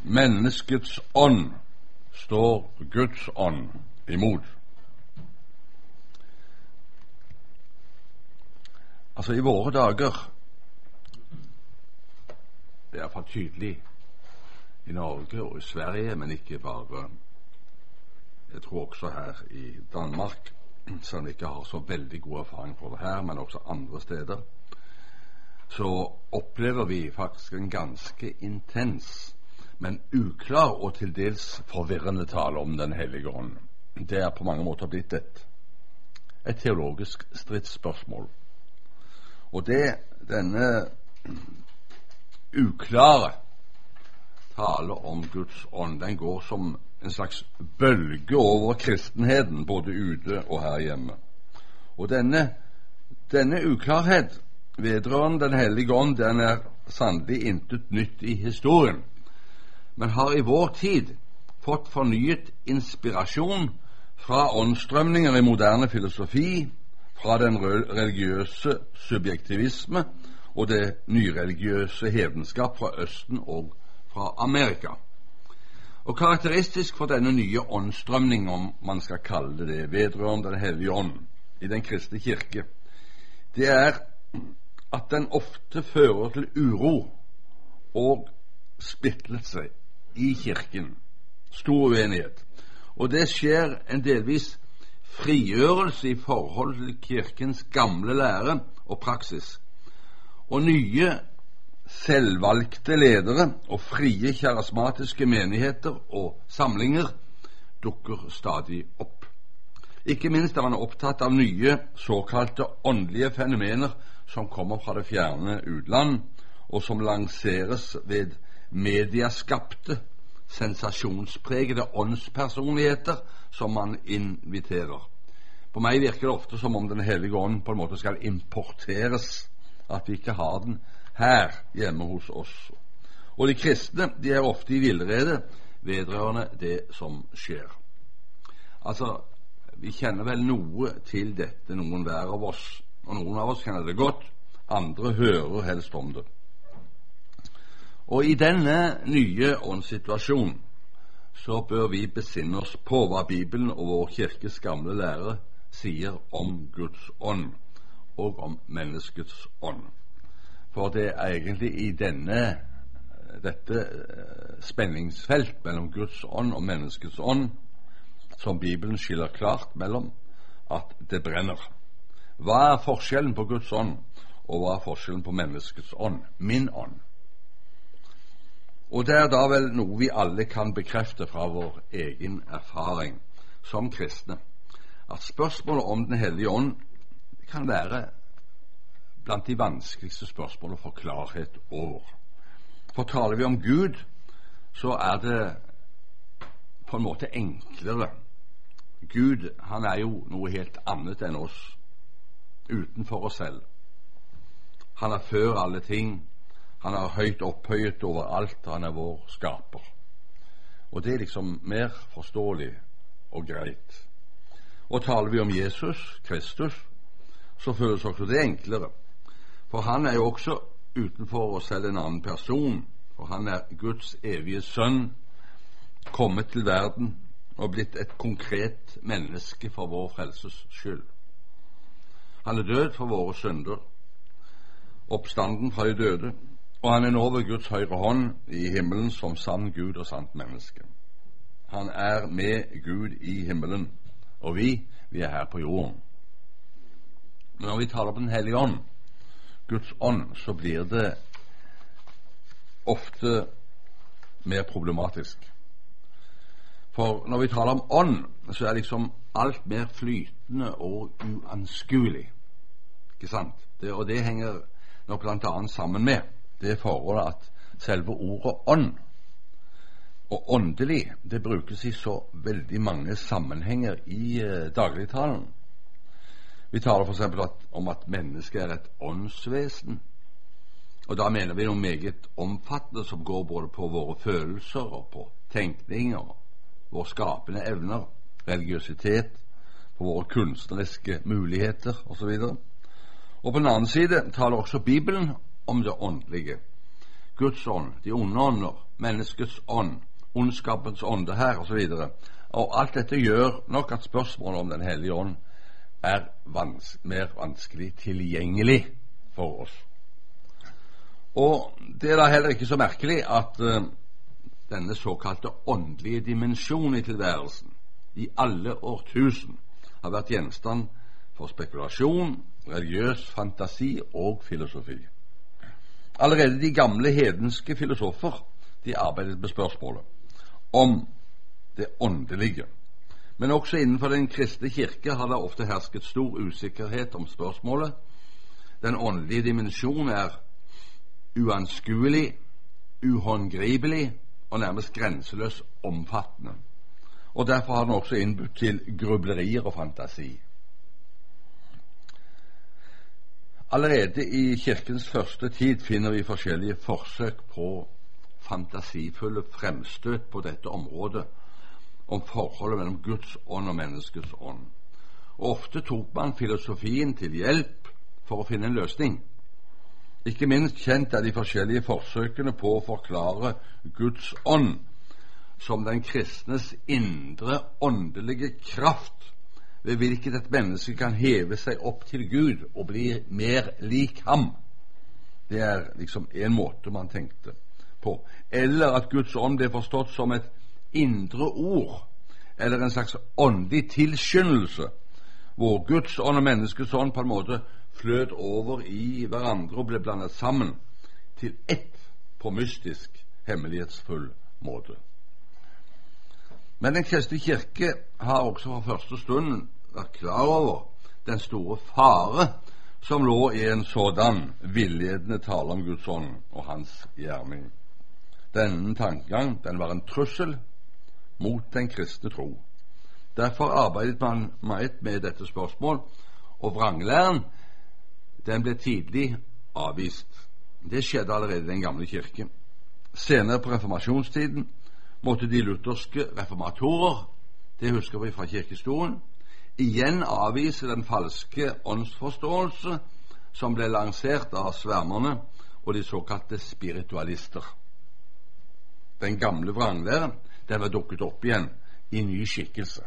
menneskets ånd står Guds ånd imot. Altså, i våre dager, det er for tydelig i Norge og i Sverige, men ikke bare, jeg tror også her i Danmark, som ikke har så veldig god erfaring for det her, men også andre steder, så opplever vi faktisk en ganske intens, men uklar og til dels forvirrende tale om Den hellige ånd. Det er på mange måter blitt et teologisk stridsspørsmål. Og denne uklare tale om Guds ånd, den går som en slags bølge over kristenheten, både ute og her hjemme. Og denne uklarhet vedrørende Den hellige ånd, den er sannelig intet nytt i historien, men har i vår tid fått fornyet inspirasjon fra åndsstrømninger i moderne filosofi, fra den religiøse subjektivisme og det nyreligiøse hedenskap fra Østen og fra Amerika. Og karakteristisk for denne nye åndsstrømning, om man skal kalle det vedrørende Den hellige ånd i den kristne kirke, det er at den ofte fører til uro og splittelse i kirken, stor uenighet. Og det skjer en delvis frigjørelse i forhold til kirkens gamle lære og praksis, og nye selvvalgte ledere og frie karismatiske menigheter og samlinger dukker stadig opp. Ikke minst er man opptatt av nye såkalte åndelige fenomener som kommer fra det fjerne utland, og som lanseres ved mediaskapte, sensasjonspregede åndspersonligheter som man inviterer. På meg virker det ofte som om Den hellige ånd på en måte skal importeres, at vi ikke har den her hjemme hos oss. Og de kristne, de er ofte i villrede vedrørende det som skjer. Altså, vi kjenner vel noe til dette, noen hver av oss, og noen av oss kjenner det godt, andre hører helst om det. Og i denne nye åndssituasjonen så bør vi besinne oss på hva Bibelen og vår kirkes gamle lære sier om Guds ånd og om menneskets ånd. For det er egentlig i dette spenningsfelt mellom Guds ånd og menneskets ånd som Bibelen skiller klart mellom at det brenner. Hva er forskjellen på Guds ånd, og hva er forskjellen på menneskets ånd, min ånd? Og det er da vel noe vi alle kan bekrefte fra vår egen erfaring som kristne, at spørsmålet om Den hellige ånd kan være blant de vanskeligste spørsmål å få klarhet over. For taler vi om Gud, så er det på en måte enklere. Gud, han er jo noe helt annet enn oss, utenfor oss selv. Han er før alle ting, han er høyt opphøyet over alt, han er vår skaper. Og det er liksom mer forståelig og greit. Og taler vi om Jesus Kristus, så føles også det enklere. For han er jo også utenfor oss selv en annen person, for han er Guds evige sønn, kommet til verden og blitt et konkret menneske for vår frelses skyld. Han er død for våre synder, oppstanden fra de døde, og han er nå ved Guds høyre hånd i himmelen som sann Gud og sant menneske. Han er med Gud i himmelen, og vi er her på jorden. Men når vi taler på Den hellige ånd, Guds ånd, så blir det ofte mer problematisk. For når vi taler om ånd, så er liksom alt mer flytende og uanskuelig. Ikke sant? Og det henger nok blant annet sammen med det forholdet at selve ordet ånd og åndelig, det brukes i så veldig mange sammenhenger i dagligtalen. Vi taler for eksempel om at mennesket er et åndsvesen, og da mener vi noe meget omfattende som går både på våre følelser og på tenkning og våre skapende evner, religiøsitet, på våre kunstneriske muligheter osv. Og på den annen side taler også Bibelen om det åndelige. Guds ånd, de onde ånder, menneskets ånd, ondskapens ånde her, og så videre. Og alt dette gjør nok at spørsmålet om Den hellige ånd er mer vanskelig tilgjengelig for oss. Og det er da heller ikke så merkelig at denne såkalte åndelige dimensjon i tilværelsen i alle årtusen har vært gjenstand for spekulasjon, religiøs fantasi og filosofi. Allerede de gamle hedenske filosofer de arbeidet med spørsmålet om det åndelige. Men også innenfor den kristne kirke har det ofte hersket stor usikkerhet om spørsmålet. Den åndelige dimensjon er uanskuelig, uhåndgripelig og nærmest grenseløs omfattende. Og derfor har den også innbudt til grublerier og fantasi. Allerede i kirkens første tid finner vi forskjellige forsøk på fantasifulle fremstøt på dette området om forholdet mellom Guds ånd og menneskets ånd. Og ofte tok man filosofien til hjelp for å finne en løsning. Ikke minst kjent er de forskjellige forsøkene på å forklare Guds ånd som den kristnes indre åndelige kraft, ved hvilket et menneske kan heve seg opp til Gud og bli mer lik ham. Det er liksom en måte man tenkte på. Eller at Guds ånd ble forstått som et indre ord, eller en slags åndelig tilskyndelse, hvor Guds ånd og menneskets ånd på en måte fløt over i hverandre og ble blandet sammen til ett på mystisk, hemmelighetsfull måte. Men Den kristne kirke har også fra første stund vært klar over den store fare som lå i en sådan villedende tale om Guds ånd og hans gjerning. Denne tankegang, den var en trussel mot den kristne tro. Derfor arbeidet man meget med dette spørsmål, og vranglæren, den ble tidlig avvist. Det skjedde allerede i den gamle kirke. Senere på reformasjonstiden måtte de lutherske reformatorer, det husker vi fra kirkehistorien, igjen avvise den falske åndsforståelse som ble lansert av svermerne og de såkalte spiritualister. Den gamle vranglæren, den var dukket opp igjen i ny skikkelse.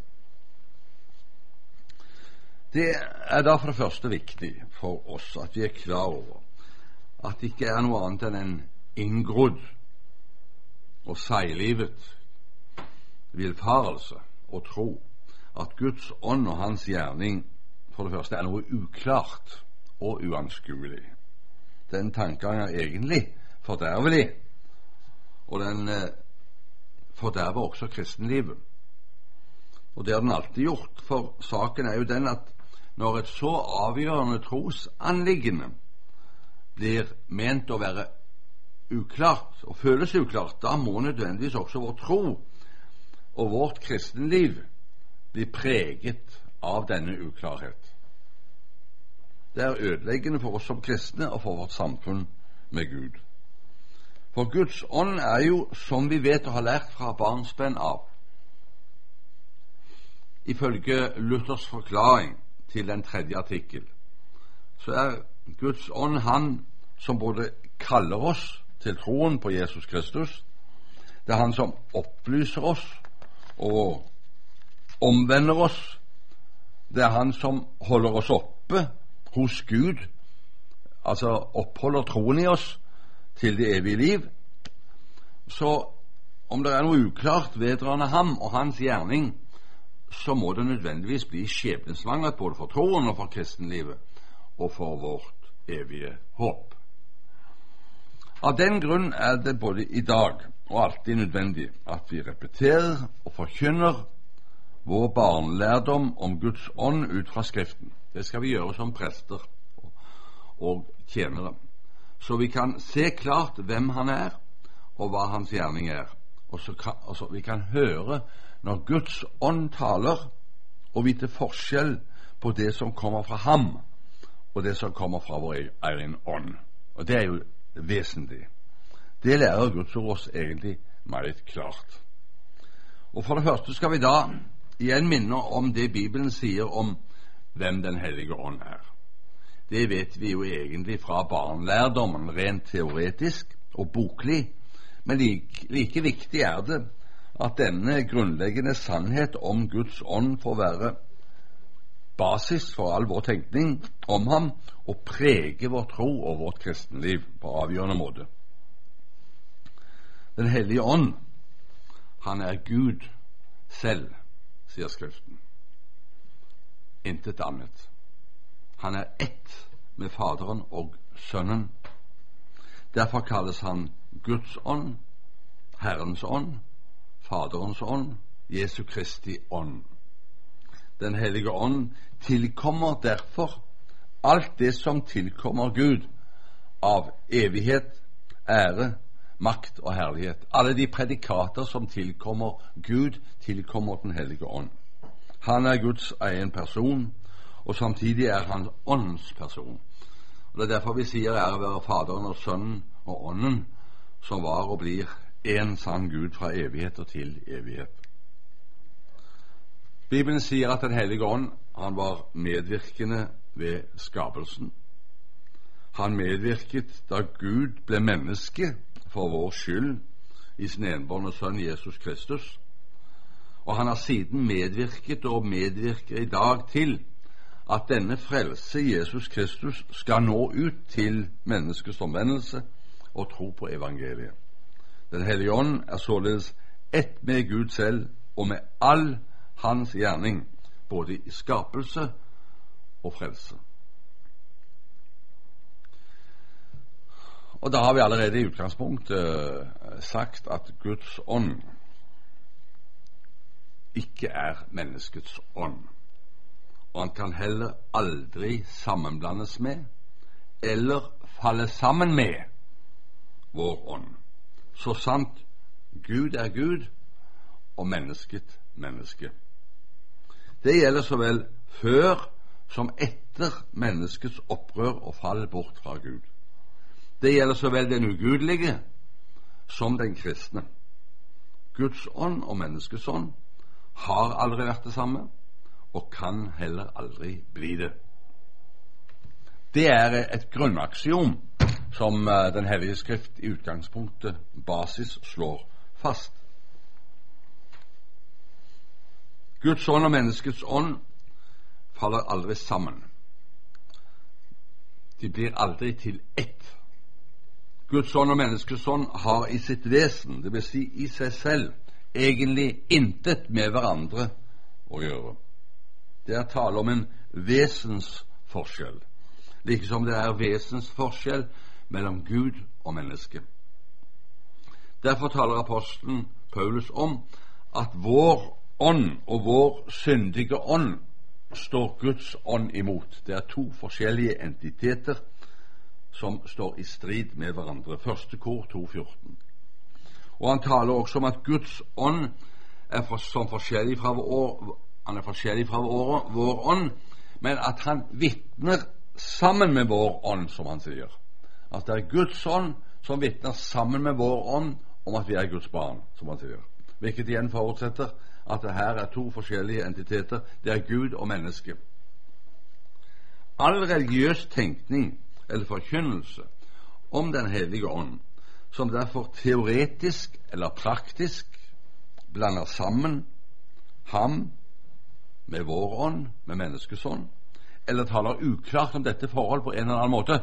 Det er da for det første viktig for oss at vi er klar over at det ikke er noe annet enn en inngrodd og seiglivet villfarelse å tro at Guds ånd og hans gjerning for det første er noe uklart og uanskuelig. Den tankegang er egentlig fordervelig, og den forderver også kristenlivet. Og det har den alltid gjort, for saken er jo den at når et så avgjørende trosanliggende blir ment å være uklart og føles uklart, da må nødvendigvis også vår tro og vårt kristenliv bli preget av denne uklarhet. Det er ødeleggende for oss som kristne og for vårt samfunn med Gud. For Guds ånd er jo, som vi vet og har lært fra barnsben av, ifølge Luthers forklaring til den 3. artikkel, så er Guds ånd han som både kaller oss til troen på Jesus Kristus, det er han som opplyser oss og omvender oss, det er han som holder oss oppe hos Gud, altså oppholder troen i oss til det evige liv. Så om det er noe uklart vedrørende ham og hans gjerning, så må det nødvendigvis bli skjebnesvangert både for troen og for kristenlivet og for vårt evige håp. Av den grunn er det både i dag og alltid nødvendig at vi repeterer og forkynner vår barnelærdom om Guds ånd ut fra Skriften. Det skal vi gjøre som prester og tjenere, så vi kan se klart hvem han er og hva hans gjerning er, og så vi kan høre når Guds ånd taler, og vite forskjell på det som kommer fra ham og det som kommer fra vår egen ånd. Og det er jo vesentlig. Det lærer Guds ord oss egentlig meget klart. Og for det første skal vi da igjen minne om det Bibelen sier om hvem Den hellige ånd er. Det vet vi jo egentlig fra barnelærdommen rent teoretisk og boklig, Men like viktig er det at denne grunnleggende sannhet om Guds ånd får være basis for all vår tenkning om ham og prege vår tro og vårt kristenliv på avgjørende måte. Den hellige ånd, han er Gud selv, sier Skriften. Intet annet. Han er ett med Faderen og Sønnen. Derfor kalles han Guds ånd, Herrens ånd, Faderens ånd, Jesu Kristi ånd. Den hellige ånd tilkommer derfor alt det som tilkommer Gud av evighet, ære, makt og herlighet. Alle de predikater som tilkommer Gud, tilkommer den hellige ånd. Han er Guds egen person, og samtidig er han åndens person. Og det er derfor vi sier ære være Faderen og Sønnen og Ånden, som var og blir en sann Gud fra evighet og til evighet. Bibelen sier at den hellige ånd, han var medvirkende ved skapelsen. Han medvirket da Gud ble menneske for vår skyld i sin enbårne sønn Jesus Kristus. Og han har siden medvirket og medvirker i dag til at denne frelse Jesus Kristus skal nå ut til menneskets omvendelse og tro på evangeliet. Den hellige ånd er således ett med Gud selv og med all hans gjerning, både i skapelse og frelse. Og da har vi allerede i utgangspunktet sagt at Guds ånd ikke er menneskets ånd, og han kan heller aldri sammenblandes med eller falle sammen med vår ånd. Så sant Gud er Gud og mennesket menneske. Det gjelder så vel før som etter menneskets opprør og fall bort fra Gud. Det gjelder så vel den ugudelige som den kristne. Guds ånd og menneskets ånd har aldri vært det samme og kan heller aldri bli det. Det er et grunnaksiom som Den hellige skrift i utgangspunktet basis slår fast. Guds ånd og menneskets ånd faller aldri sammen. De blir aldri til ett. Guds ånd og menneskets ånd har i sitt vesen, det vil si i seg selv, egentlig intet med hverandre å gjøre. Det er tale om en vesensforskjell, like som det er vesensforskjell mellom Gud og menneske. Derfor taler apostelen Paulus om at vår ånd og vår syndige ånd står Guds ånd imot. Det er to forskjellige entiteter som står i strid med hverandre. Første kor 2,14. Og han taler også om at Guds ånd er forskjellig fra vår ånd, men at han vitner sammen med vår ånd, som han sier. At det er Guds ånd som vitner sammen med vår ånd om at vi er Guds barn, som han sier. Hvilket igjen forutsetter at det her er to forskjellige entiteter. Det er Gud og menneske. All religiøs tenkning eller forkynnelse om Den hellige ånd, som derfor teoretisk eller praktisk blander sammen ham med vår ånd, med menneskets ånd, eller taler uklart om dette forhold på en eller annen måte,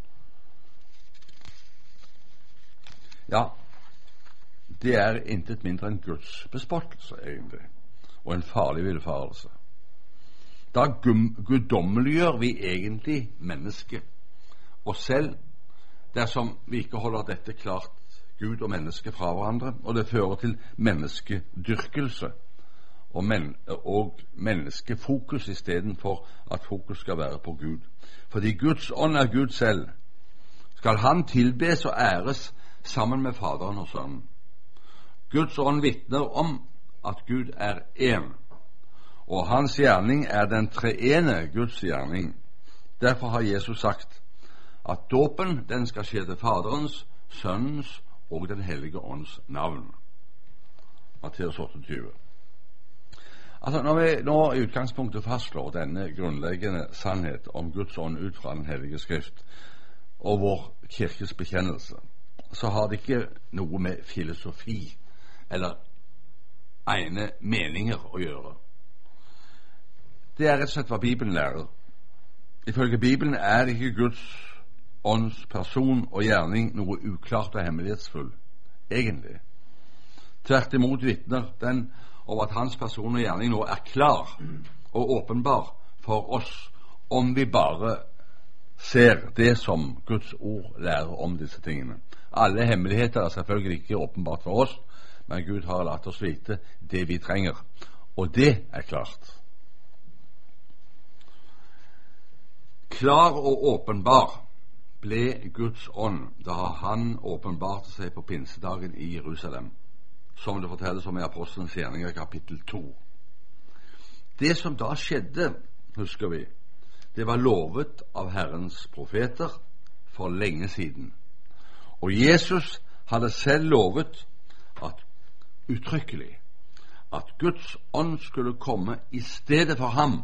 ja, det er intet mindre enn Guds bespottelse egentlig, og en farlig villfarelse. Da guddommeliggjør vi egentlig mennesket, og selv dersom vi ikke holder dette klart Gud og menneske fra hverandre, og det fører til menneskedyrkelse og menneskefokus i stedet for at fokus skal være på Gud. Fordi Guds ånd er Gud selv, skal han tilbes og æres sammen med Faderen og Sønnen. Guds ånd vitner om at Gud er én, og hans gjerning er den treene Guds gjerning. Derfor har Jesus sagt at dåpen den skal skje til Faderens, Sønnens og Den hellige ånds navn. Matteus 28. Altså, når vi nå i utgangspunktet fastslår denne grunnleggende sannhet om Guds ånd ut fra Den hellige skrift og vår kirkes bekjennelse, så har det ikke noe med filosofi eller ene meninger å gjøre. Det er rett og slett hva Bibelen lærer. Ifølge Bibelen er ikke Guds ånds person og gjerning noe uklart og hemmelighetsfull, egentlig. Tvert imot vitner den over at hans person og gjerning nå er klar og åpenbar for oss, om vi bare ser det som Guds ord lærer om disse tingene. Alle hemmeligheter er selvfølgelig ikke åpenbart for oss, men Gud har latt oss vite det vi trenger, og det er klart. Klar og åpenbar ble Guds ånd da han åpenbarte seg på pinsedagen i Jerusalem, som det fortelles om i Apostelens gjerninger kapittel 2. Det som da skjedde, husker vi, det var lovet av Herrens profeter for lenge siden. Og Jesus hadde selv lovet uttrykkelig at Guds ånd skulle komme i stedet for ham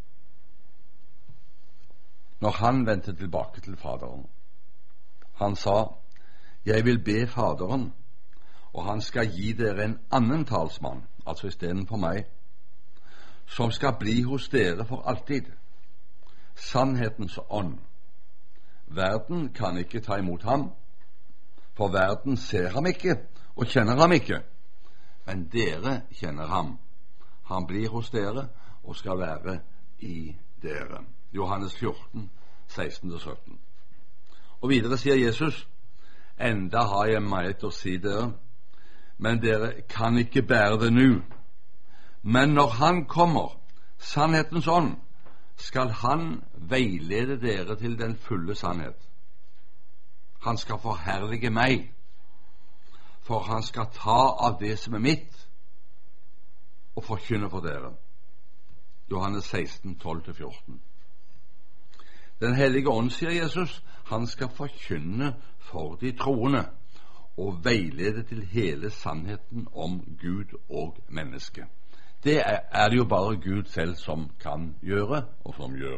når han vendte tilbake til Faderen. Han sa, jeg vil be Faderen, og han skal gi dere en annen talsmann, altså i stedet for meg, som skal bli hos dere for alltid. Sannhetens ånd. Verden kan ikke ta imot ham, for verden ser ham ikke og kjenner ham ikke, men dere kjenner ham. Han blir hos dere og skal være i dere. Johannes 14, 16-17. Og videre sier Jesus, enda har jeg meget å si dere, men dere kan ikke bære det nå. Men når han kommer, sannhetens ånd, skal han veilede dere til den fulle sannhet. Han skal forherlige meg, for han skal ta av det som er mitt, og forkynne for dere. Johannes 16, 12-14. Den hellige ånd, sier Jesus, han skal forkynne for de troende, og veilede til hele sannheten om Gud og menneske. Det er det jo bare Gud selv som kan gjøre, og som gjør.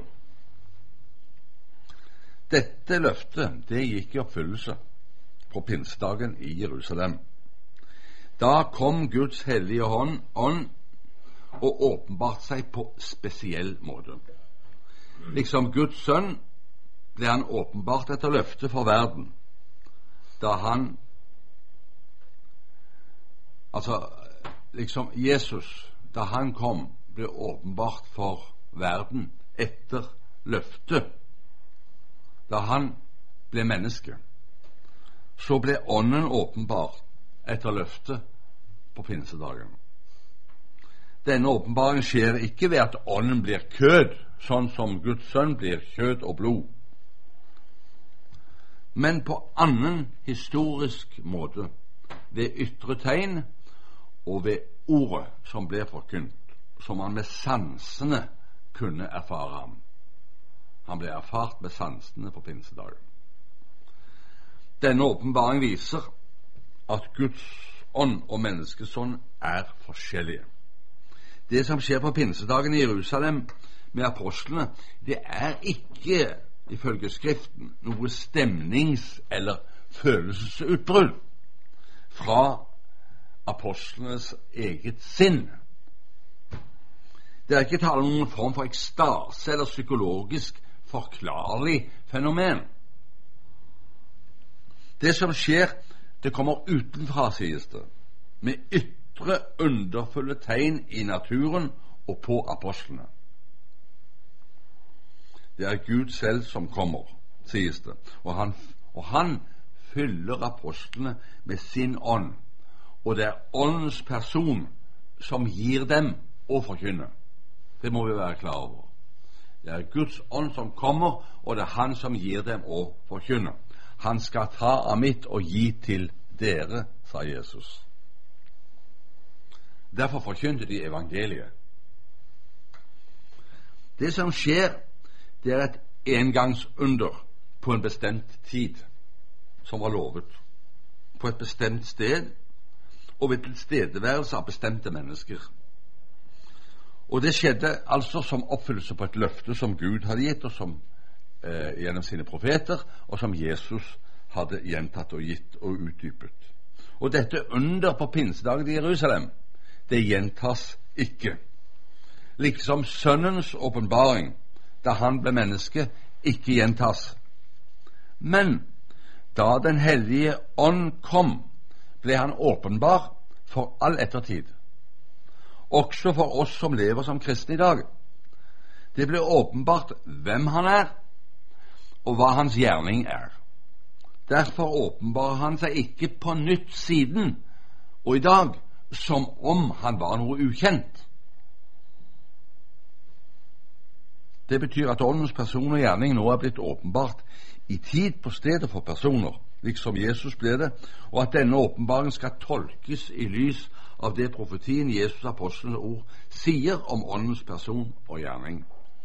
Dette løftet, det gikk i oppfyllelse på pinsedagen i Jerusalem. Da kom Guds hellige ånd og åpenbart seg på spesiell måte. Liksom Guds sønn ble han åpenbart etter løftet for verden, da han, altså liksom Jesus, da han kom, ble åpenbart for verden etter løftet. Da han ble menneske, så ble ånden åpenbar etter løftet på pinsedagen. Denne åpenbaringen skjer ikke ved at ånden blir kød, sånn som Guds sønn blir kjød og blod, men på annen historisk måte, ved ytre tegn og ved ordet som ble forkynt, som han med sansene kunne erfare ham. Han ble erfart med sansene på pinsedagen. Denne åpenbaring viser at Guds ånd og menneskets ånd er forskjellige. Det som skjer på pinsedagen i Jerusalem med apostlene, det er ikke, ifølge Skriften, noe stemnings- eller følelsesutbrudd fra apostlenes eget sinn. Det er ikke tale om noen form for ekstase eller psykologisk forklarlig fenomen. Det som skjer, det kommer utenfra, sies det, med ytre underfulle tegn i naturen og på apostlene. Det er Gud selv som kommer, sies det, og han fyller apostlene med sin ånd, og det er åndens person som gir dem å forkynne. Det må vi være klar over. Det er Guds ånd som kommer, og det er han som gir dem å forkynne. Han skal ta av mitt og gi til dere, sa Jesus. Derfor forkynte de evangeliet. Det som skjer, det er et engangsunder på en bestemt tid, som var lovet, på et bestemt sted, og ved tilstedeværelse av bestemte mennesker. Og det skjedde altså som oppfyllelse på et løfte som Gud hadde gitt, og som gjennom sine profeter, og som Jesus hadde gjentatt og gitt og utdypet. Og dette under på pinsedagen i Jerusalem, det gjentas ikke. Liksom Sønnens åpenbaring, da han ble menneske, ikke gjentas. Men da Den hellige ånd kom, ble han åpenbar for all ettertid. Også for oss som lever som kristne i dag. Det ble åpenbart hvem han er, og hva hans gjerning er. Derfor åpenbarer han seg ikke på nytt siden og i dag, som om han var noe ukjent. Det betyr at åndens person og gjerning nå er blitt åpenbart i tid på stedet for personer, liksom Jesus ble det, og at denne åpenbaringen skal tolkes i lys av det profetien Jesus apostelens ord sier om åndens person og gjerning.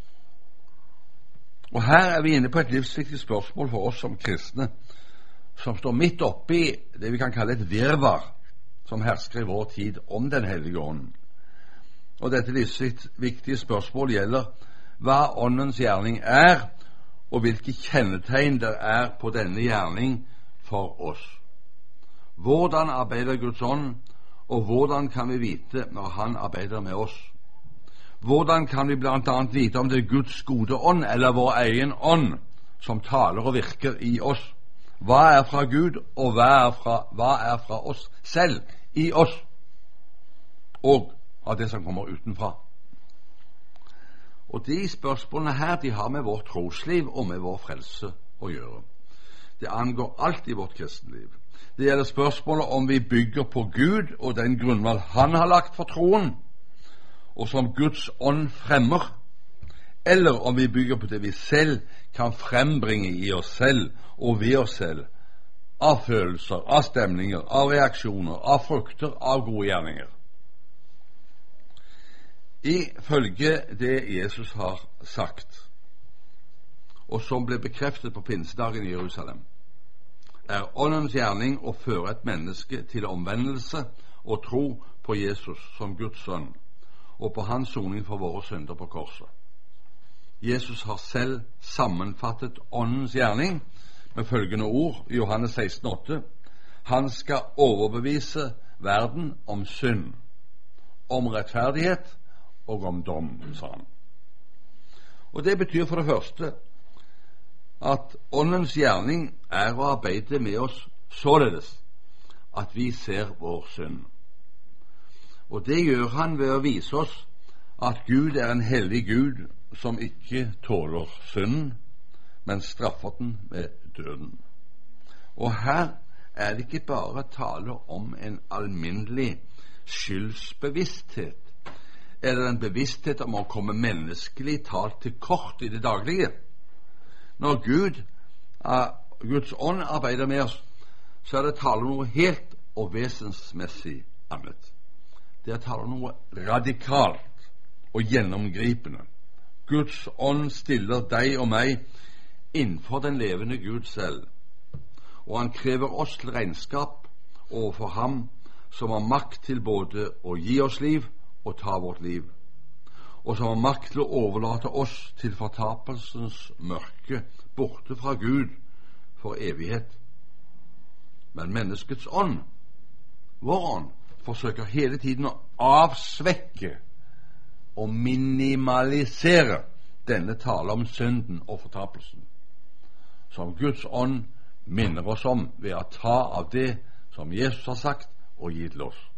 Og her er vi inne på et livsviktig spørsmål for oss som kristne, som står midt oppe i det vi kan kalle et virvar som hersker i vår tid om Den hellige ånd. Og dette livsviktige spørsmål gjelder hva åndens gjerning er, og hvilke kjennetegn det er på denne gjerning for oss. Hvordan arbeider Guds ånd, og hvordan kan vi vite når han arbeider med oss? Hvordan kan vi blant annet vite om det er Guds gode ånd eller vår egen ånd som taler og virker i oss? Hva er fra Gud, og hva er fra oss selv i oss, og av det som kommer utenfra? Og de spørsmålene her, de har med vårt trosliv og med vår frelse å gjøre. Det angår alt i vårt kristenliv. Det gjelder spørsmålet om vi bygger på Gud og den grunnvoll han har lagt for troen, og som Guds ånd fremmer, eller om vi bygger på det vi selv kan frembringe i oss selv og ved oss selv, av følelser, av stemninger, av reaksjoner, av frukter, av gode gjerninger. Ifølge det Jesus har sagt, og som ble bekreftet på pinsedagen i Jerusalem, er åndens gjerning å føre et menneske til omvendelse og tro på Jesus som Guds sønn, og på hans soning for våre synder på korset. Jesus har selv sammenfattet åndens gjerning med følgende ord i Johannes 16,8: Han skal overbevise verden om synd, om rettferdighet og om dom, sa han. Og det betyr for det første at åndens gjerning er å arbeide med oss således at vi ser vår synd. Og det gjør han ved å vise oss at Gud er en hellig Gud som ikke tåler synden, men straffer den med døden. Og her er det ikke bare tale om en alminnelig skyldsbevissthet, eller en bevissthet om å komme menneskelig talt til kort i det daglige. Når Guds ånd arbeider med oss, så er det tale om noe helt og vesensmessig annet. Det er tale om noe radikalt og gjennomgripende. Guds ånd stiller deg og meg innenfor den levende Gud selv, og han krever oss til regnskap overfor ham som har makt til både å gi oss liv og ta vårt liv, og som har makt til å overlate oss til fortapelsens mørke borte fra Gud for evighet. Men menneskets ånd, vår ånd, forsøker hele tiden å avsvekke og minimalisere denne tale om synden og fortapelsen, som Guds ånd minner oss om ved å ta av det som Jesus har sagt og gitt til oss.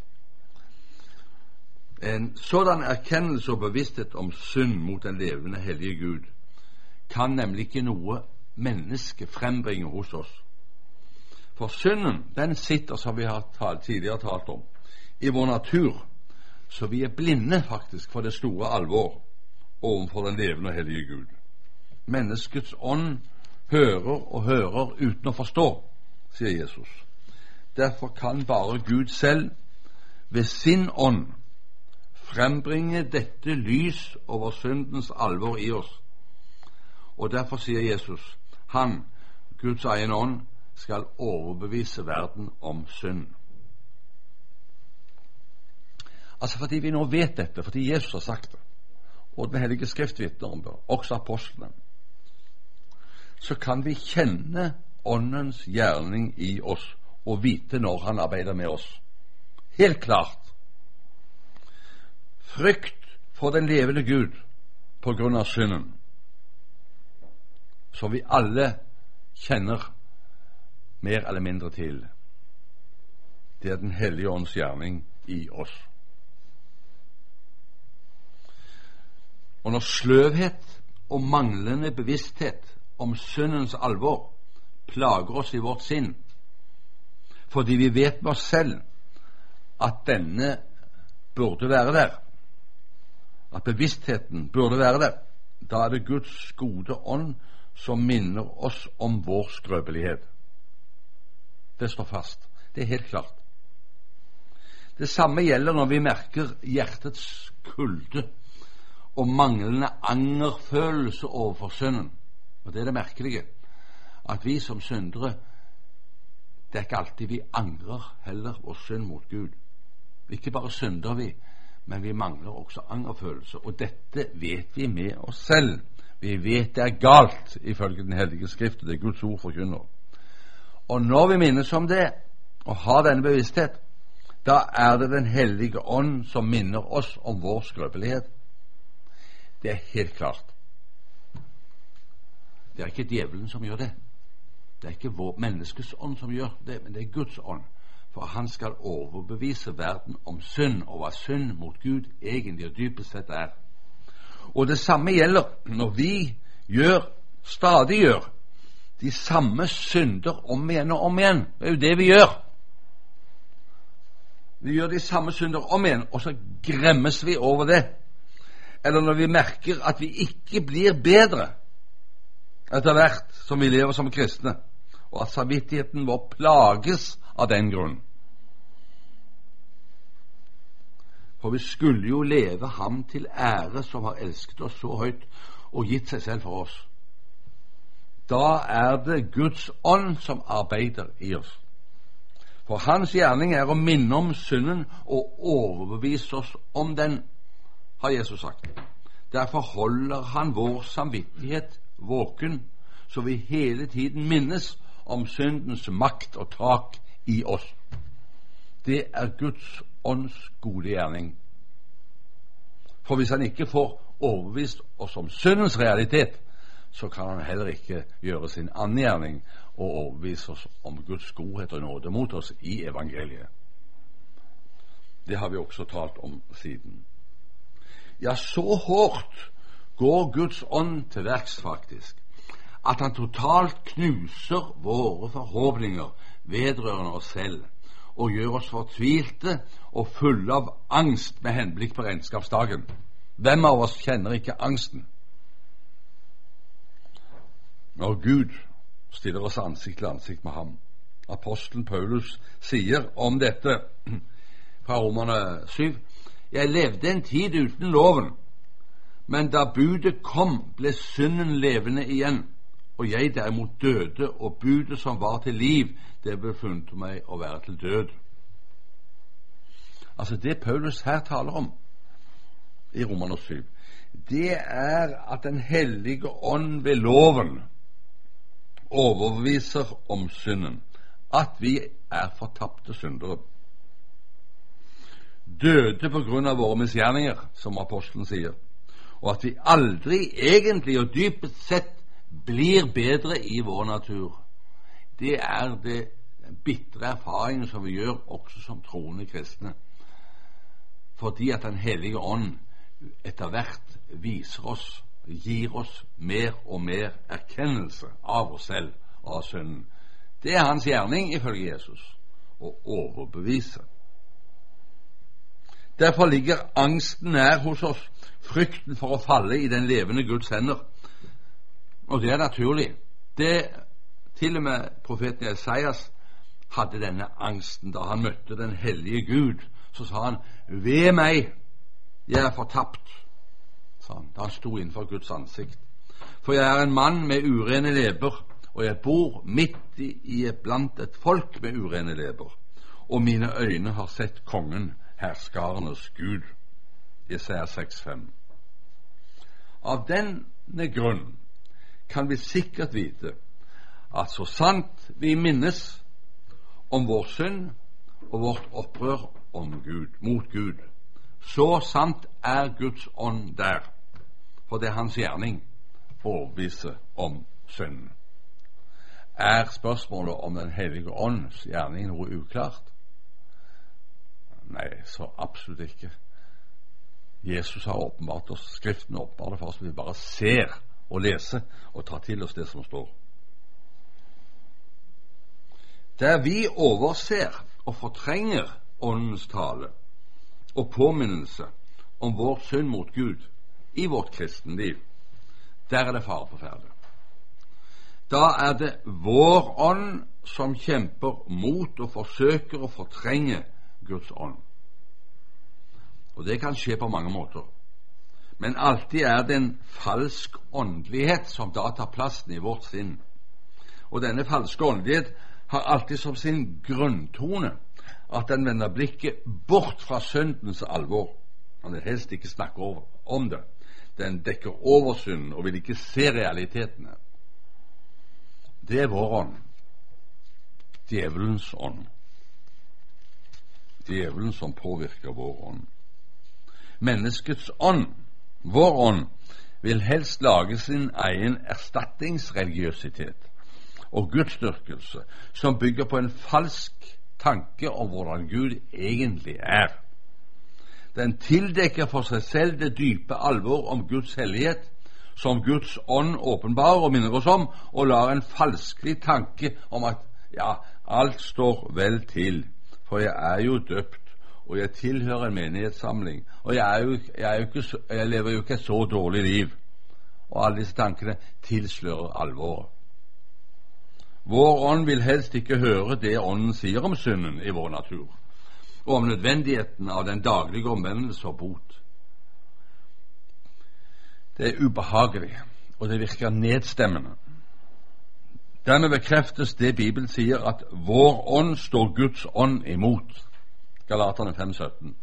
En sådan erkjennelse og bevissthet om synd mot den levende hellige Gud kan nemlig ikke noe menneske frembringe hos oss. For synden, den sitter, som vi har tidligere talt om, i vår natur, så vi er blinde faktisk for det store alvor overfor den levende og hellige Gud. Menneskets ånd hører og hører uten å forstå, sier Jesus. Derfor kan bare Gud selv ved sin ånd frembringe dette lys over syndens alvor i oss. Og derfor sier Jesus, han, Guds egen ånd, skal overbevise verden om synd. Altså fordi vi nå vet dette, fordi Jesus har sagt det, og Den hellige skrift vitner om det, også apostlene, så kan vi kjenne åndens gjerning i oss og vite når han arbeider med oss. Helt klart. Frykt for den levende Gud på grunn av synden, som vi alle kjenner mer eller mindre til. Det er Den hellige ånds gjerning i oss. Og når sløvhet og manglende bevissthet om syndens alvor plager oss i vårt sinn, fordi vi vet med oss selv at denne burde være der, at bevisstheten burde være der, da er det Guds gode ånd som minner oss om vår skrøpelighet. Det står fast. Det er helt klart. Det samme gjelder når vi merker hjertets kulde og manglende angerfølelse overfor synden. Og det er det merkelige, at vi som syndere, det er ikke alltid vi angrer heller vår synd mot Gud. Ikke bare synder vi, men vi mangler også angerfølelse. Og dette vet vi med oss selv. Vi vet det er galt ifølge Den hellige skrift, og det er Guds ord forkynner. Og når vi minnes om det og har denne bevissthet, da er det Den hellige ånd som minner oss om vår skrøpelighet. Det er helt klart. Det er ikke djevelen som gjør det. Det er ikke vår menneskes ånd som gjør det, men det er Guds ånd. For han skal overbevise verden om synd, og hva synd mot Gud egentlig og dypest sett er. Og det samme gjelder når vi stadig gjør de samme synder om igjen og om igjen. Det er jo det vi gjør. Vi gjør de samme synder om igjen, og så gremmes vi over det. Eller når vi merker at vi ikke blir bedre etter hvert som vi lever som kristne, og at samvittigheten vår plages av den grunn. For vi skulle jo leve ham til ære som har elsket oss så høyt og gitt seg selv for oss. Da er det Guds ånd som arbeider i oss. For hans gjerning er å minne om synden og overbevise oss om den, har Jesus sagt. Derfor holder han vår samvittighet våken, så vi hele tiden minnes om syndens makt og tak i oss. Det er Guds ånds gode gjerning. For hvis han ikke får overbevist oss om syndens realitet, så kan han heller ikke gjøre sin annen gjerning og overbevise oss om Guds godhet og nåde mot oss i evangeliet. Det har vi også talt om siden. Ja, så hårdt går Guds ånd til verks faktisk, at han totalt knuser våre forhåpninger vedrørende oss selv, og gjør oss fortvilte og fulle av angst med henblikk på regnskapsdagen. Hvem av oss kjenner ikke angsten? Når Gud stiller oss ansikt til ansikt med ham. Apostelen Paulus sier om dette fra Romerne 7: Jeg levde en tid uten loven, men da budet kom, ble synden levende igjen, og jeg derimot døde, og budet som var til liv, det befunnet meg å være til død. Altså det Paulus her taler om i Romerne 7, det er at Den hellige ånd ved loven overbeviser om synden, at vi er fortapte syndere, døde på grunn av våre misgjerninger, som apostelen sier, og at vi aldri egentlig og dypest sett blir bedre i vår natur. Det er det bitre erfaringen som vi gjør også som troende kristne, fordi at Den hellige ånd etter hvert viser oss, gir oss mer og mer erkjennelse av oss selv og av synden. Det er hans gjerning ifølge Jesus, å overbevise. Derfor ligger angsten nær hos oss, frykten for å falle i den levende Guds hender. Og det er naturlig. Det til og med profeten Esaias hadde denne angsten da han møtte den hellige Gud. Så sa han: ved meg, jeg er fortapt, sa han da han sto innenfor Guds ansikt. For jeg er en mann med urene leber, og jeg bor midt blant et folk med urene leber, og mine øyne har sett kongen, herskarenes Gud. Jesaja 6,5. Av denne grunn kan vi sikkert vite at så sant vi minnes om vår synd og vårt opprør mot Gud, så sant er Guds ånd der, for det er hans gjerning overbevise om synden. Er spørsmålet om Den hellige ånds gjerning noe uklart? Nei, så absolutt ikke. Jesus har åpenbart oss, Skriften åpenbart for oss, vi bare ser og leser og tar til oss det som står. Der vi overser og fortrenger åndens tale og påminnelse om vår synd mot Gud i vårt kristenliv, der er det fare på ferde. Da er det vår ånd som kjemper mot og forsøker å fortrenge Guds ånd. Og det kan skje på mange måter. Men alltid er det en falsk åndelighet som da tar plassen i vårt sinn. Og denne falske åndelighet har alltid som sin grunntone at den vender blikket bort fra syndens alvor. Han vil helst ikke snakke om det. Den dekker over synden og vil ikke se realitetene. Det er vår ånd. Djevelens ånd. Djevelen som påvirker vår ånd. Menneskets ånd, vår ånd, vil helst lage sin egen erstatningsreligiøsitet og gudsdyrkelse som bygger på en falsk tanke om hvordan Gud egentlig er. Den tildekker for seg selv det dype alvor om Guds hellighet, som Guds ånd åpenbarer og minner oss om, og lar en falskelig tanke om at ja, alt står vel til, for jeg er jo døpt, og jeg tilhører en menighetssamling, og jeg lever jo ikke et så dårlig liv. Og alle disse tankene tilslører alvoret. Vår ånd vil helst ikke høre det ånden sier om synden i vår natur, og om nødvendigheten av den daglige omvendelse og bot. Det er ubehagelig, og det virker nedstemmende. Dermed bekreftes det Bibelen sier, at vår ånd står Guds ånd imot. Galaterne 5,17.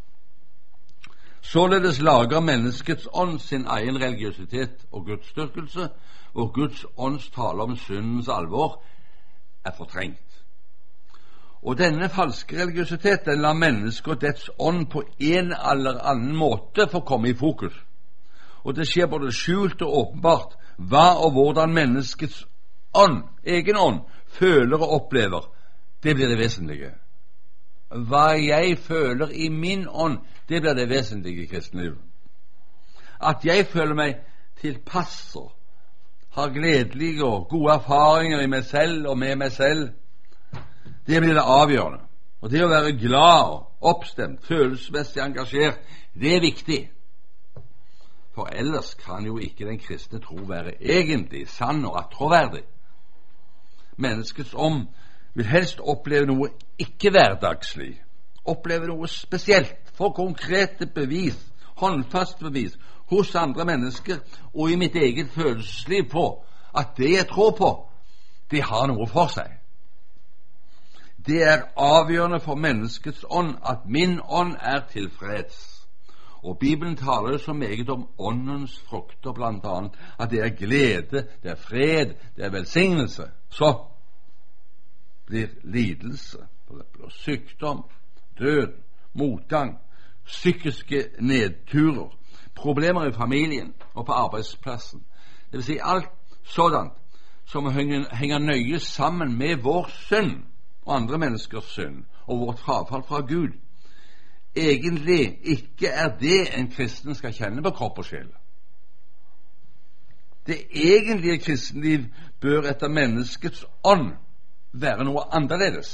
Således lager menneskets ånd sin egen religiøsitet og gudsdyrkelse, og Guds ånds tale om syndens alvor er fortrengt. Og denne falske religiøsitet, den lar mennesket og dets ånd på en eller annen måte få komme i fokus. Og det skjer både skjult og åpenbart hva og hvordan menneskets ånd, egen ånd, føler og opplever. Det blir det vesentlige. Hva jeg føler i min ånd, det blir det vesentlige i kristenlivet. At jeg føler meg tilpass og har gledelige og gode erfaringer i meg selv og med meg selv, det blir det avgjørende. Og det å være glad og oppstemt, følelsesmessig engasjert, det er viktig. For ellers kan jo ikke den kristne tro være egentlig sann og troverdig. Menneskets ånd vil helst oppleve noe ikke-hverdagslig, oppleve noe spesielt, få konkrete bevis, håndfast bevis hos andre mennesker og i mitt eget følelsesliv på at det jeg tror på, det har noe for seg. Det er avgjørende for menneskets ånd at min ånd er tilfreds. Og Bibelen taler så meget om åndens frukter, blant annet at det er glede, det er fred, det er velsignelse. Så blir lidelse, sykdom, død, motgang, psykiske nedturer, problemer i familien og på arbeidsplassen. Det vil si alt sådant som henger nøye sammen med vår synd og andre menneskers synd og vårt frafall fra Gud. Egentlig ikke er det en kristen skal kjenne på kropp og sjel. Det egentlige kristenliv bør etter menneskets ånd være noe annerledes.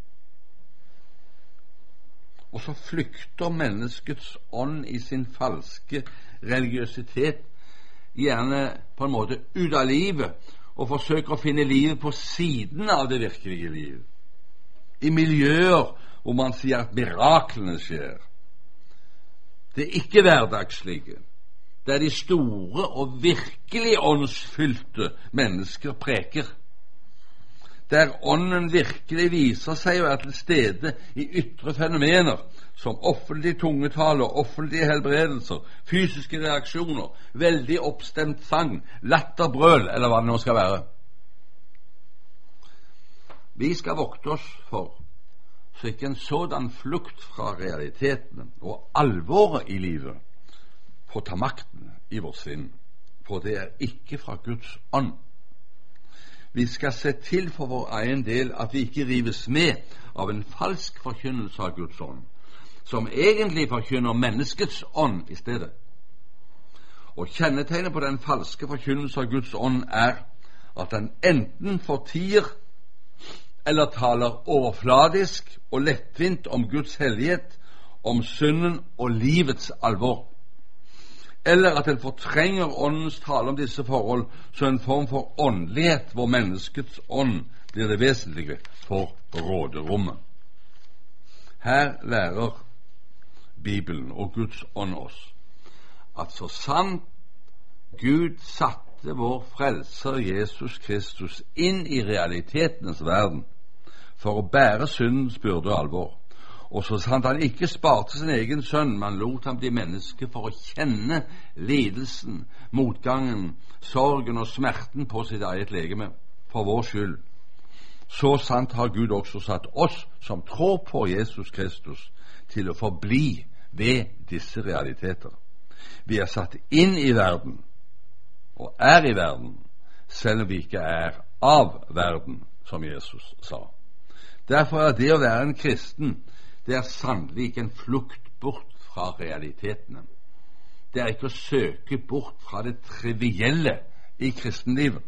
Og så flykter menneskets ånd i sin falske religiøsitet gjerne på en måte ut av livet og forsøker å finne livet på siden av det virkelige liv. I miljøer hvor man sier at miraklene skjer. Det er ikke hverdagslige. Det er de store og virkelig åndsfylte mennesker preker. Der ånden virkelig viser seg å være til stede i ytre fenomener som offentlig tungetale, offentlige helbredelser, fysiske reaksjoner, veldig oppstemt sang, latter, brøl, eller hva det nå skal være. Vi skal vokte oss for så ikke en sådan flukt fra realitetene og alvoret i livet får ta makten i vårt sinn, for det er ikke fra Guds ånd. Vi skal se til for vår egen del at vi ikke rives med av en falsk forkynnelse av Guds ånd, som egentlig forkynner menneskets ånd i stedet. Og kjennetegnet på den falske forkynnelse av Guds ånd er at den enten fortier eller taler overfladisk og lettvint om Guds hellighet, om synden og livets alvor, eller at den fortrenger åndens tale om disse forhold som en form for åndelighet hvor menneskets ånd blir det vesentlige for råderommet. Her lærer Bibelen og Guds ånd oss at så sant Gud satte vår frelser Jesus Kristus inn i realitetenes verden for å bære syndens byrde og alvor, og så sant han ikke sparte sin egen sønn, men lot ham bli menneske for å kjenne lidelsen, motgangen, sorgen og smerten på sitt eget legeme for vår skyld, så sant har Gud også satt oss som tror på Jesus Kristus til å forbli ved disse realiteter. Vi er satt inn i verden og er i verden, selv om vi ikke er av verden, som Jesus sa. Derfor er det å være en kristen, det er sannelig ikke en flukt bort fra realitetene. Det er ikke å søke bort fra det trivielle i kristenlivet.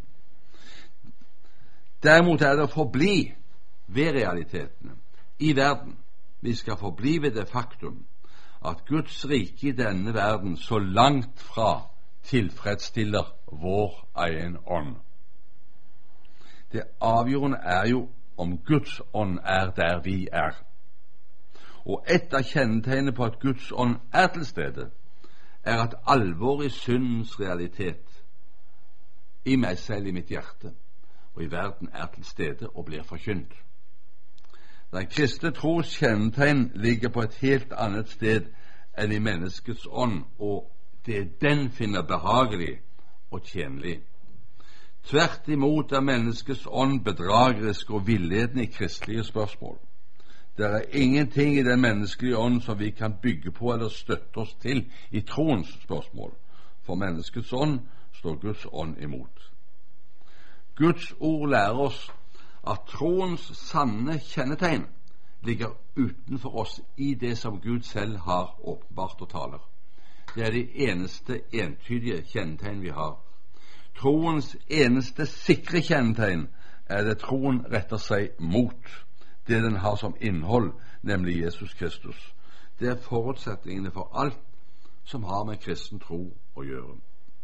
Derimot er det å forbli ved realitetene i verden. Vi skal forbli ved det faktum at Guds rike i denne verden så langt fra tilfredsstiller vår egen ånd. Det avgjørende er jo om Guds ånd er der vi er. Og et av kjennetegnene på at Guds ånd er til stede, er at alvor i syndens realitet i meg selv, i mitt hjerte og i verden er til stede og blir forkynt. Den kristne tros kjennetegn ligger på et helt annet sted enn i menneskets ånd, og det den finner behagelig og tjenlig. Tvert imot er menneskets ånd bedragerisk og villedende i kristelige spørsmål. Det er ingenting i den menneskelige ånd som vi kan bygge på eller støtte oss til i troens spørsmål. For menneskets ånd står Guds ånd imot. Guds ord lærer oss at troens sanne kjennetegn ligger utenfor oss i det som Gud selv har åpenbart og taler. Det er de eneste entydige kjennetegn vi har. Troens eneste sikre kjennetegn er det troen retter seg mot, det den har som innhold, nemlig Jesus Kristus. Det er forutsetningene for alt som har med kristen tro å gjøre.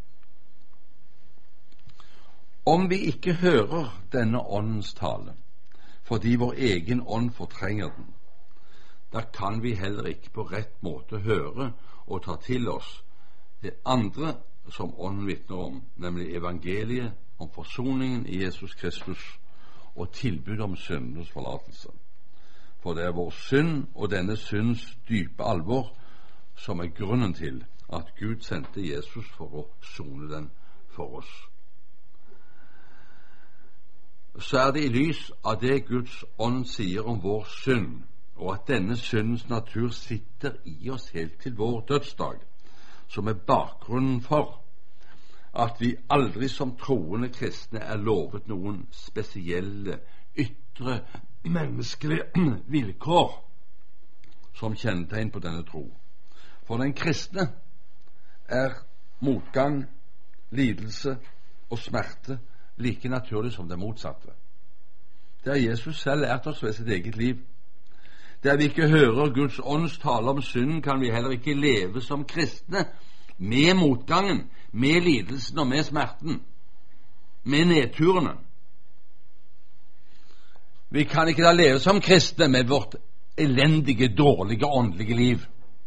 Om vi ikke hører denne åndens tale, fordi vår egen ånd fortrenger den, da kan vi heller ikke på rett måte høre og ta til oss det andre som ånden vitner om, nemlig evangeliet om forsoningen i Jesus Kristus og tilbud om syndenes forlatelse. For det er vår synd og denne synds dype alvor som er grunnen til at Gud sendte Jesus for å sone den for oss. Så er det i lys av det Guds ånd sier om vår synd, og at denne syndens natur sitter i oss helt til vår dødsdag, som er bakgrunnen for at vi aldri som troende kristne er lovet noen spesielle ytre menneskelige vilkår som kjennetegn på denne tro. For den kristne er motgang, lidelse og smerte like naturlig som det motsatte. Det er Jesus selv lært oss ved sitt eget liv. Der vi ikke hører Guds ånds tale om synden, kan vi heller ikke leve som kristne med motgangen, med lidelsen og med smerten, med nedturene. Vi kan ikke da leve som kristne med vårt elendige, dårlige åndelige liv.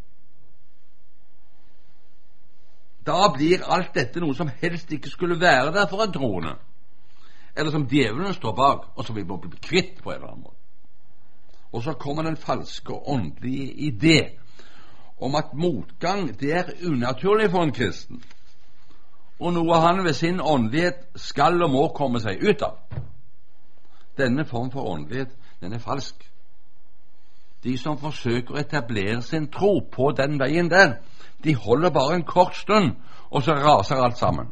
Da blir alt dette noe som helst ikke skulle være der for en troende, eller som djevelen står bak, og som vi må bli kvitt på en eller annen måte. Og så kommer den falske åndelige idé om at motgang, det er unaturlig for en kristen, og noe han ved sin åndelighet skal og må komme seg ut av. denne form for åndelighet, den er falsk. De som forsøker å etablere sin tro på den veien der, de holder bare en kort stund, og så raser alt sammen.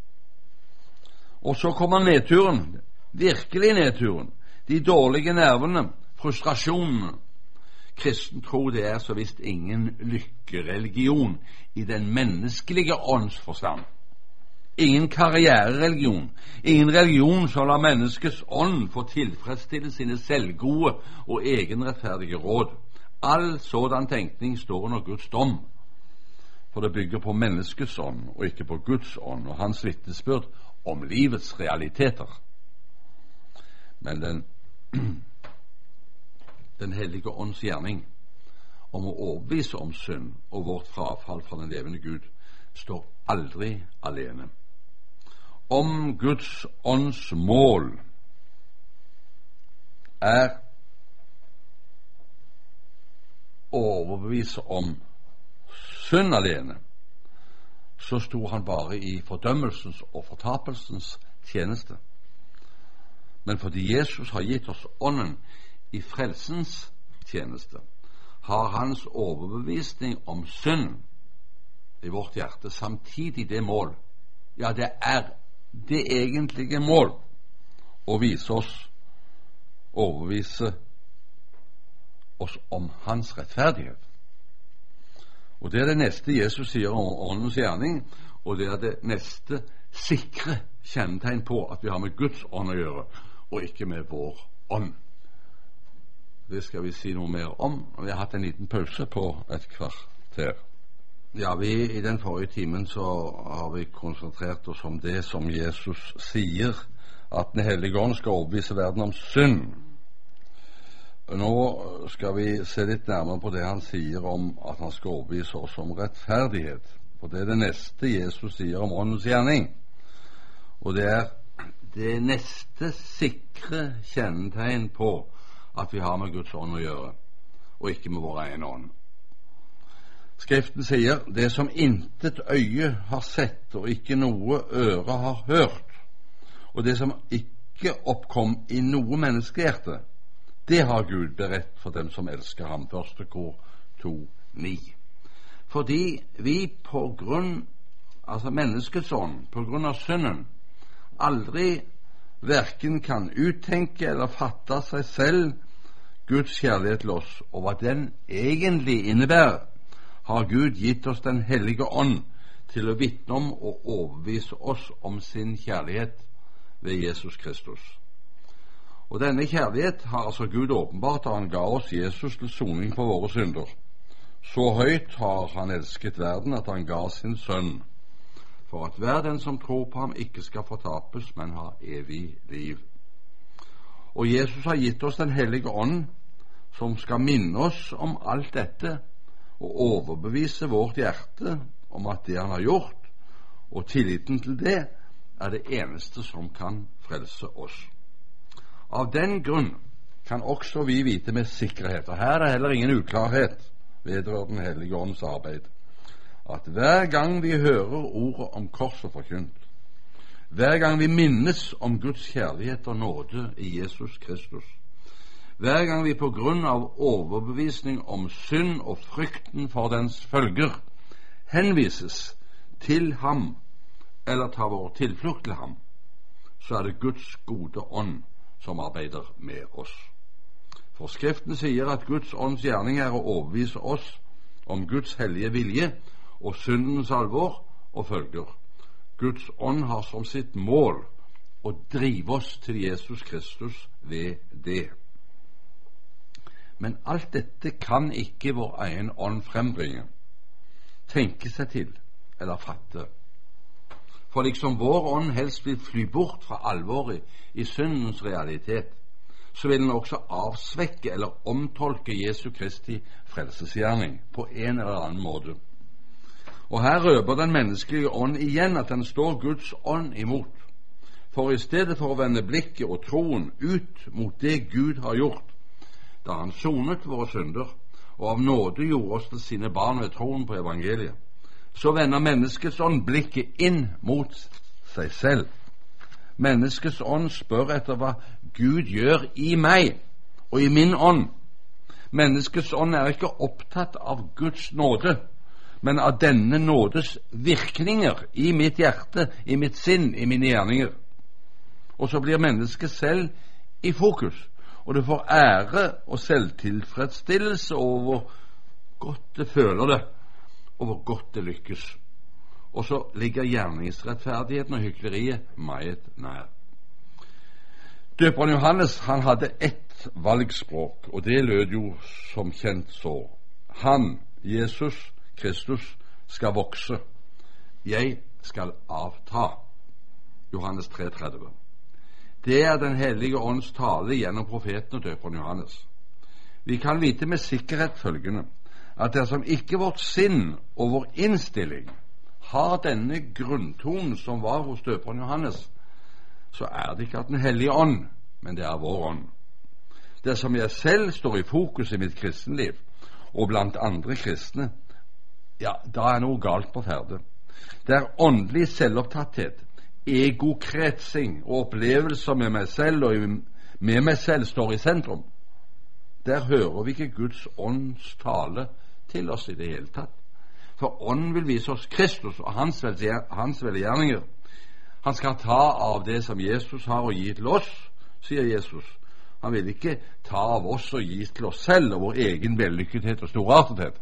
Og så kommer nedturen, virkelig nedturen, de dårlige nervene, frustrasjonene. Kristen tro, det er så visst ingen lykkereligion i den menneskelige åndsforstand. Ingen karrierereligion, ingen religion som lar menneskets ånd få tilfredsstille sine selvgode og egenrettferdige råd. All sådan tenkning står under Guds dom, for det bygger på menneskets ånd og ikke på Guds ånd og hans vitnesbyrd om livets realiteter. Men den hellige ånds gjerning om å overbevise om synd og vårt frafall fra den levende Gud står aldri alene. Om Guds ånds mål er å overbevise om synd alene, så sto han bare i fordømmelsens og fortapelsens tjeneste. Men fordi Jesus har gitt oss ånden i frelsens tjeneste, har hans overbevisning om synd i vårt hjerte samtidig det mål, ja, det er det egentlige mål, å overbevise oss om hans rettferdighet. Og det er det neste Jesus sier om åndens gjerning, og det er det neste sikre kjennetegn på at vi har med Guds ånd å gjøre, og ikke med vår ånd. Det skal vi si noe mer om, og vi har hatt en liten pause på et kvarter. Ja, i den forrige timen så har vi konsentrert oss om det som Jesus sier, at Den hellige ånd skal overbevise verden om synd. Nå skal vi se litt nærmere på det han sier om at han skal overbevise oss om rettferdighet. For det er det neste Jesus sier om åndens gjerning. Og det er det neste sikre kjennetegn på at vi har med Guds ånd å gjøre, og ikke med vår egen ånd. Skriften sier, det som intet øye har sett, og ikke noe øre har hørt, og det som ikke oppkom i noe menneskehjerte, det har Gud beredt for dem som elsker ham. 1. Kor 2:9. Fordi vi på grunn, altså menneskets ånd, på grunn av synden, aldri hverken kan uttenke eller fatte seg selv Guds kjærlighet til oss, og hva den egentlig innebærer, har Gud gitt oss Den hellige ånd til å vitne om og overbevise oss om sin kjærlighet ved Jesus Kristus. Og denne kjærlighet har altså Gud åpenbart da han ga oss Jesus til soning for våre synder. Så høyt har han elsket verden at han ga sin sønn, for at hver den som tror på ham ikke skal fortapes, men har evig liv. Og Jesus har gitt oss Den hellige ånd, som skal minne oss om alt dette og overbevise vårt hjerte om at det han har gjort, og tilliten til det, er det eneste som kan frelse oss. Av den grunn kan også vi vite med sikkerhet, og her er det heller ingen uklarhet vedrørende Den hellige ånds arbeid, at hver gang vi hører ordet om korset forkynt, hver gang vi minnes om Guds kjærlighet og nåde i Jesus Kristus, hver gang vi på grunn av overbevisning om synd og frykten for dens følger henvises til ham eller tar vår tilflukt til ham, så er det Guds gode ånd som arbeider med oss. For Skriften sier at Guds ånds gjerning er å overbevise oss om Guds hellige vilje og syndens alvor og følger. Guds ånd har som sitt mål å drive oss til Jesus Kristus ved det. Men alt dette kan ikke vår egen ånd frembringe, tenke seg til eller fatte. For liksom vår ånd helst vil fly bort fra alvoret i syndens realitet, så vil den også avsvekke eller omtolke Jesu Kristi frelsesgjerning på en eller annen måte. Og her røper den menneskelige ånd igjen at den står Guds ånd imot. For i stedet for å vende blikket og troen ut mot det Gud har gjort, da han sonet våre synder og av nåde gjorde oss til sine barn ved troen på evangeliet, så vender menneskets ånd blikket inn mot seg selv. Menneskets ånd spør etter hva Gud gjør i meg og i min ånd. Menneskets ånd er ikke opptatt av Guds nåde, men av denne nådes virkninger i mitt hjerte, i mitt sinn, i mine gjerninger. Og så blir mennesket selv i fokus, og det får ære og selvtilfredsstillelse over hvor godt det føler det, og hvor godt det lykkes. Og så ligger gjerningsrettferdigheten og hykleriet meget nær. Døperen Johannes, han hadde ett valgspråk, og det lød jo som kjent så: Han, Jesus Kristus, skal vokse, jeg skal avta. Johannes 3,30. Det er Den hellige ånds tale gjennom profeten og døperen Johannes. Vi kan vite med sikkerhet følgende, at dersom ikke vårt sinn og vår innstilling har denne grunntonen som var hos døperen Johannes, så er det ikke at Den hellige ånd, men det er vår ånd. Dersom jeg selv står i fokus i mitt kristenliv, og blant andre kristne, ja, da er noe galt på ferde. Der åndelig selvopptatthet, egokretsing og opplevelser med meg selv og med meg selv står i sentrum, der hører vi ikke Guds ånds tale til oss i det hele tatt. For ånden vil vise oss Kristus og hans velgjerninger. Han skal ta av det som Jesus har å gi til oss, sier Jesus. Han vil ikke ta av oss og gi til oss selv og vår egen vellykkethet og storartethet.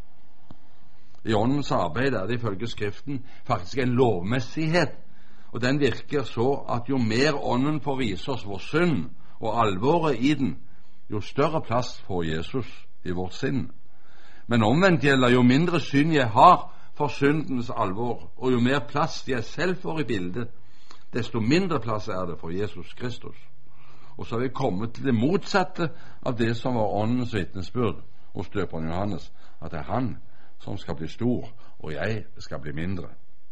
I åndens arbeid er det ifølge Skriften faktisk en lovmessighet, og den virker så at jo mer ånden får vise oss vår synd og alvoret i den, jo større plass får Jesus i vårt sinn. Men omvendt gjelder, jo mindre synd jeg har for syndens alvor, og jo mer plass jeg selv får i bildet, desto mindre plass er det for Jesus Kristus. Og så er vi kommet til det motsatte av det som var åndens vitnesbyrd hos døperen Johannes, at det er han som skal bli stor, og jeg skal bli mindre.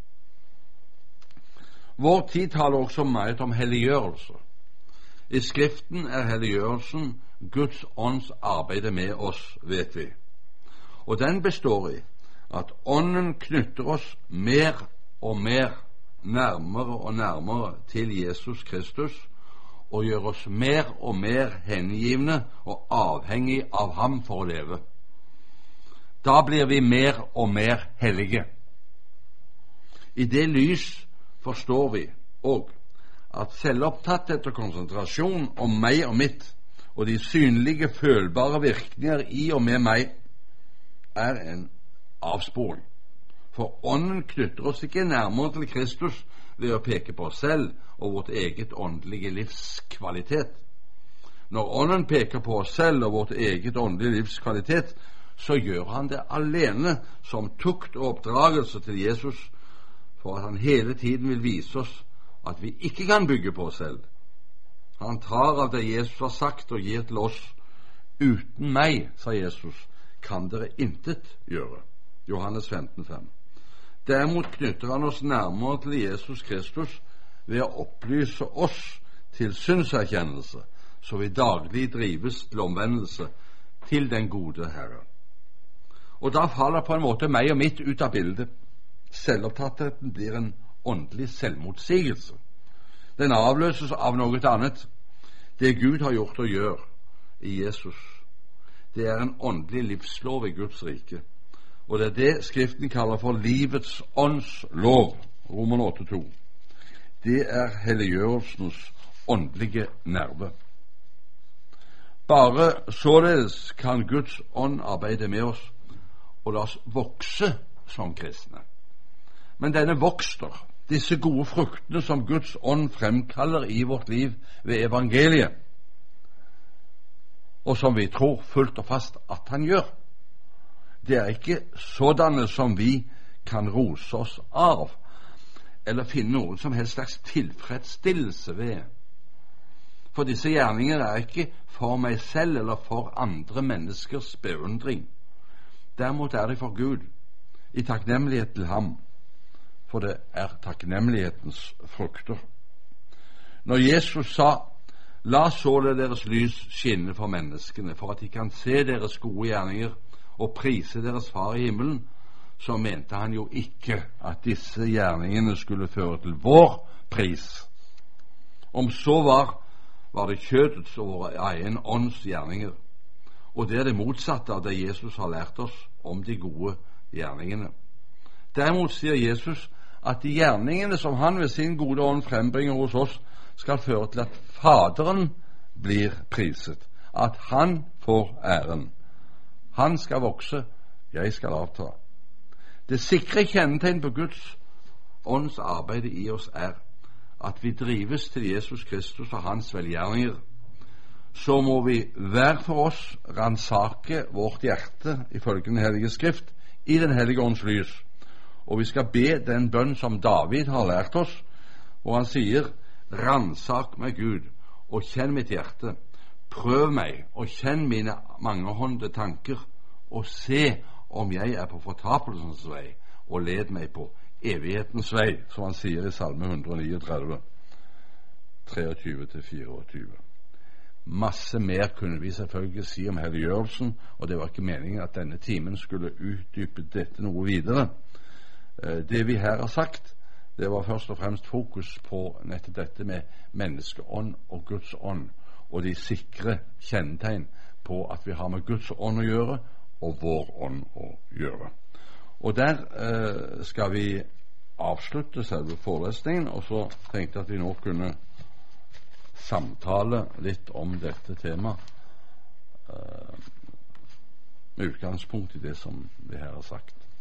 Vår tid taler også meget om helliggjørelse. I Skriften er helliggjørelsen Guds ånds arbeid med oss, vet vi. Og den består i at ånden knytter oss mer og mer nærmere og nærmere til Jesus Kristus, og gjør oss mer og mer hengivne og avhengig av ham for å leve. Da blir vi mer og mer hellige. I det lys forstår vi òg at selvopptatthet og konsentrasjon om meg og mitt, og de synlige, følbare virkninger i og med meg, er en avsporing. For ånden knytter oss ikke nærmere til Kristus ved å peke på oss selv og vårt eget åndelige livskvalitet. Når ånden peker på oss selv og vårt eget åndelige livskvalitet, så gjør han det alene som tukt og oppdragelse til Jesus, for at han hele tiden vil vise oss at vi ikke kan bygge på oss selv. Han tar av det Jesus har sagt og gir til oss. Uten meg, sa Jesus, kan dere intet gjøre. Johannes 15,5. Derimot knytter han oss nærmere til Jesus Kristus ved å opplyse oss til synserkjennelse, så vi daglig drives til omvendelse til den gode Herre. Og da faller på en måte meg og mitt ut av bildet. Selvopptattheten blir en åndelig selvmotsigelse. Den avløses av noe annet. Det Gud har gjort og gjør i Jesus, det er en åndelig livslov i Guds rike. Og det er det Skriften kaller for livets ånds lov, Roman 8,2. Det er helliggjørelsens åndelige nerve. Bare således kan Guds ånd arbeide med oss og la oss vokse som kristne. Men denne vokster, disse gode fruktene som Guds ånd fremkaller i vårt liv ved evangeliet, og som vi tror fullt og fast at han gjør, det er ikke sådanne som vi kan rose oss av, eller finne noen som helst slags tilfredsstillelse ved. For disse gjerninger er ikke for meg selv eller for andre menneskers beundring. Derimot er det for Gud, i takknemlighet til ham, for det er takknemlighetens frukter. Når Jesus sa, la således deres lys skinne for menneskene, for at de kan se deres gode gjerninger og prise deres far i himmelen, så mente han jo ikke at disse gjerningene skulle føre til vår pris, Om så var det kjødets og vår egen ånds gjerninger. Og det er det motsatte av det Jesus har lært oss om de gode gjerningene. Derimot sier Jesus at de gjerningene som han ved sin gode ånd frembringer hos oss, skal føre til at Faderen blir priset, at han får æren. Han skal vokse, jeg skal avta. Det sikre kjennetegn på Guds ånds arbeid i oss er at vi drives til Jesus Kristus og hans velgjerninger. Så må vi hver for oss ransake vårt hjerte ifølge Den hellige skrift i Den hellige ånds lys. Og vi skal be den bønn som David har lært oss, og han sier: ransak meg, Gud, og kjenn mitt hjerte. Prøv meg og kjenn mine mangehånde tanker, og se om jeg er på fortapelsens vei, og led meg på evighetens vei, som han sier i Salme 139, 23-24. Masse mer kunne vi selvfølgelig si om helliggjørelsen, og det var ikke meningen at denne timen skulle utdype dette noe videre. Det vi her har sagt, det var først og fremst fokus på nettopp dette med menneskeånd og Guds ånd, og de sikre kjennetegn på at vi har med Guds ånd å gjøre og vår ånd å gjøre. Og der skal vi avslutte selve forelesningen, og så tenkte jeg at vi nå kunne samtale litt om dette temaet med utgangspunkt i det som vi her har sagt.